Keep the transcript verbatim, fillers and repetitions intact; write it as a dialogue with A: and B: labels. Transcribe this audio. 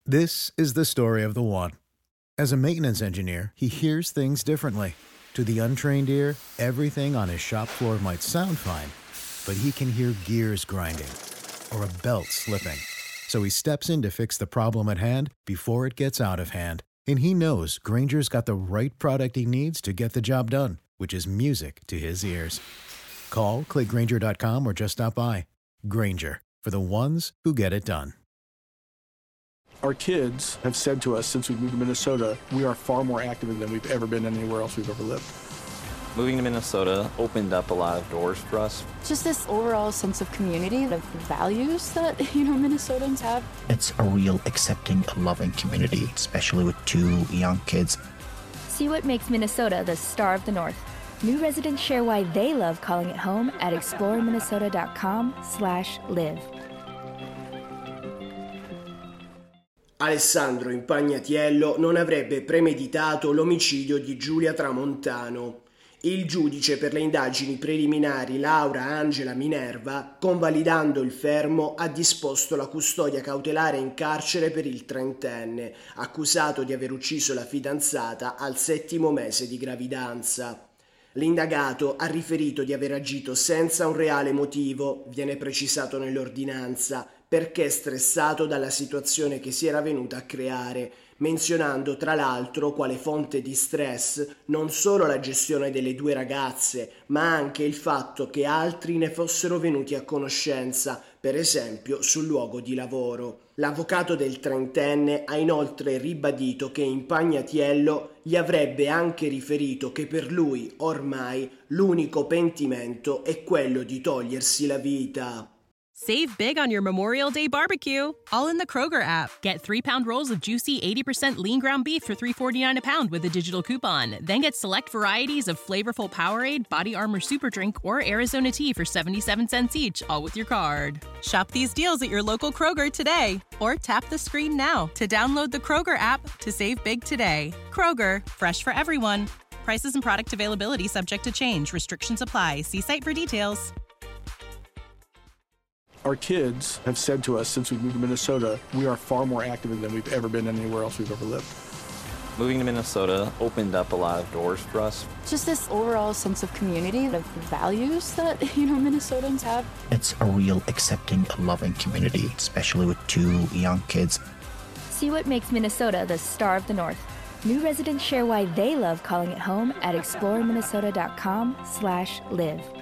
A: This is the story of the one. As a maintenance engineer, he hears things differently. To the untrained ear, everything on his shop floor might sound fine, but he can hear gears grinding or a belt slipping. So he steps in to fix the problem at hand before it gets out of hand. And he knows Grainger's got the right product he needs to get the job done, which is music to his ears. Call, click Grainger dot com, or just stop by. Grainger, for the ones who get it done.
B: Our kids have said to us since we moved to Minnesota, we are far more active than we've ever been anywhere else we've ever lived.
C: Moving to Minnesota opened up a lot of doors for us.
D: Just this overall sense of community, of values that, you know, Minnesotans have.
E: It's a real accepting, loving community, especially with two young kids.
F: See what makes Minnesota the star of the North. New residents share why they love calling it home at explore minnesota dot com slash live.
G: Alessandro Impagnatiello non avrebbe premeditato l'omicidio di Giulia Tramontano. Il giudice per le indagini preliminari Laura Angela Minerva, convalidando il fermo, ha disposto la custodia cautelare in carcere per il trentenne, accusato di aver ucciso la fidanzata al settimo mese di gravidanza. L'indagato ha riferito di aver agito senza un reale motivo, viene precisato nell'ordinanza, perché stressato dalla situazione che si era venuta a creare, menzionando tra l'altro quale fonte di stress non solo la gestione delle due ragazze, ma anche il fatto che altri ne fossero venuti a conoscenza, per esempio sul luogo di lavoro. L'avvocato del trentenne ha inoltre ribadito che Impagnatiello gli avrebbe anche riferito che per lui ormai l'unico pentimento è quello di togliersi la vita.
H: Save big on your Memorial Day barbecue, all in the Kroger app. Get three-pound rolls of juicy eighty percent lean ground beef for three forty-nine a pound with a digital coupon. Then get select varieties of flavorful Powerade, Body Armor Super Drink, or Arizona tea for seventy-seven cents each, all with your card. Shop these deals at your local Kroger today, or tap the screen now to download the Kroger app to save big today. Kroger, fresh for everyone. Prices and product availability subject to change. Restrictions apply. See site for details.
B: Our kids have said to us since we moved to Minnesota, we are far more active than we've ever been anywhere else we've ever lived.
C: Moving to Minnesota opened up a lot of doors for us.
D: Just this overall sense of community, of values that, you know, Minnesotans have.
E: It's a real accepting, loving community, especially with two young kids.
F: See what makes Minnesota the star of the North. New residents share why they love calling it home at explore minnesota dot com slash live.